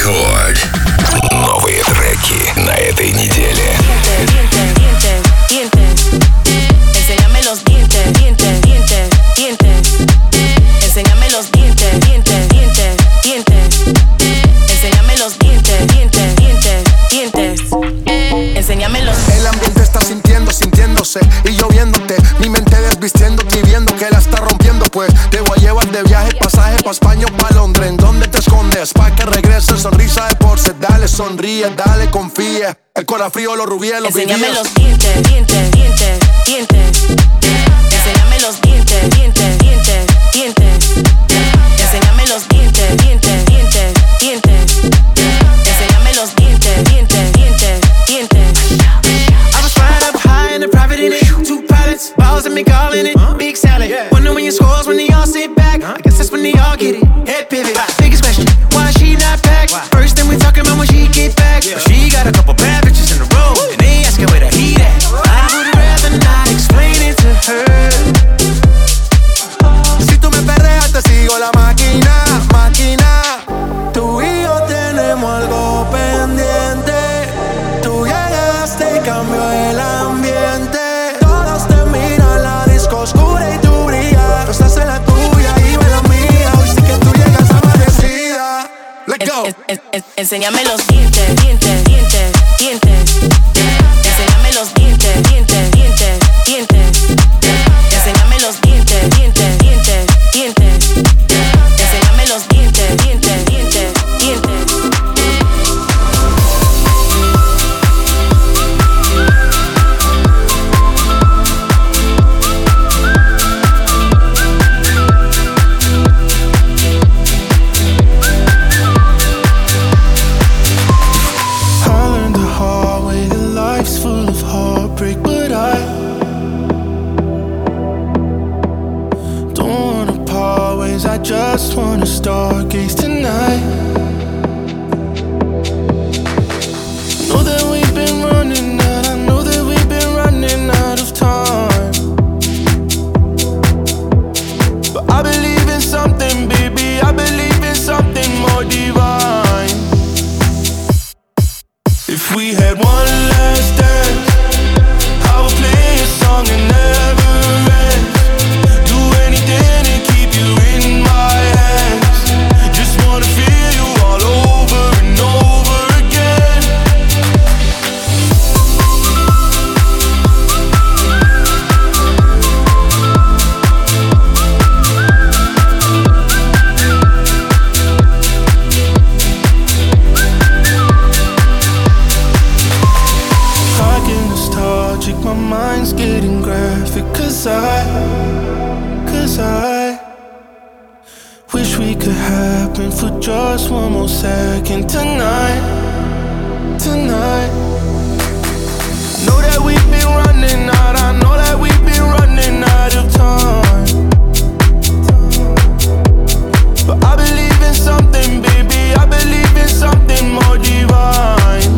Рекорд. Новые треки на этой неделе. Enséñame los dientes, dientes, dientes, dientes. Enséñame los dientes, dientes, dientes, dientes. Enséñame los dientes, dientes, dientes, dientes. Enséñame los. El ambiente está sintiéndose y yo viéndote. Mi mente desvistiéndote y viendo que la está rompiendo. Pues te voy a llevar de viaje, pasaje pa' España o pa' Londres. ¿En dónde te escondes? Pa' que regreses, sonrisa de porce. Dale, sonríe, dale, confía. El corazón frío, los rubíes, los vivíes. Enséñame los dientes, dientes, dientes, dientes. Enséñame los dientes, dientes, dientes, dientes. Enséñame los dientes, dientes, dientes, dientes. Enséñame los dientes, dientes, dientes, dientes. I was flying up high in a private in it. 2 pilots, balls and me calling it. Big salad. Wonder when your scores when they all sit back. I guess that's when they all get it. Head pivot. Biggest question, why she not packed? First thing we talking about when she get back. But she got a couple bad bitches in a row, and they asking where the heat at. I would rather not explain it to her. Si tú me perreas, te sigo la máquina, máquina. Tú y yo tenemos algo pendiente. Tú llegaste y cambió el ambiente. Todos te miran, la disco oscura y tú brillas. Tú estás en la tuya y yo en la mía. Hoy sí que tú llegas amanecida. Let's go. Enséñame los dientes, dientes, dientes, dientes. Enséñame los dientes, dientes, dientes, dientes. Enséñame los dientes, dientes, dientes, dientes. Enséñame los dientes, dientes, dientes, dientes. I just wanna stargaze tonight. Know that we've been running out. I know that we've been running out of time. But I believe in something, baby. I believe in something more divine. If we had one last dance, I would play a song and never end. Do anything to keep you in my hands. Just wanna feel you all over and over again. I get nostalgic, my mind's getting graphic. Cause I wish we could happen for just one more second tonight. Know that we've been running out. I know that we've been running out of time. But I believe in something, baby. I believe in something more divine.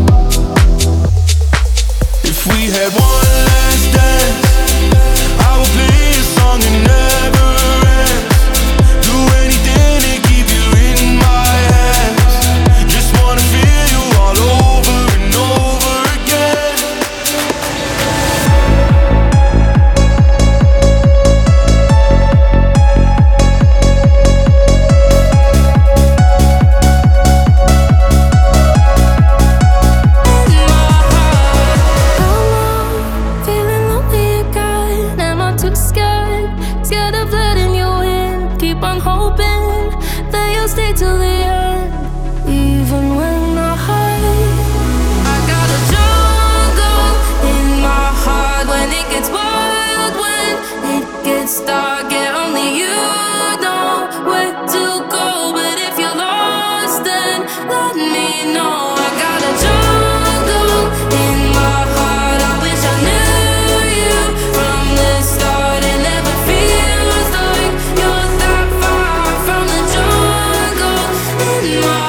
If we had one last dance, I would play a song and never end. Do anything to keep you in my hands. Just wanna feel you all over and over again. Feeling lonely again. Am I too scared? Scared of letting you in. Keep on hoping that you'll stay till the end. Even when I hide, I got a jungle in my heart. When it gets wild, when it gets dark, yeah, only you know where to go. But if you're lost, then let me know. I got a jungle in my heart. I wish I knew you from the start. It never feels like you're that far from the jungle in my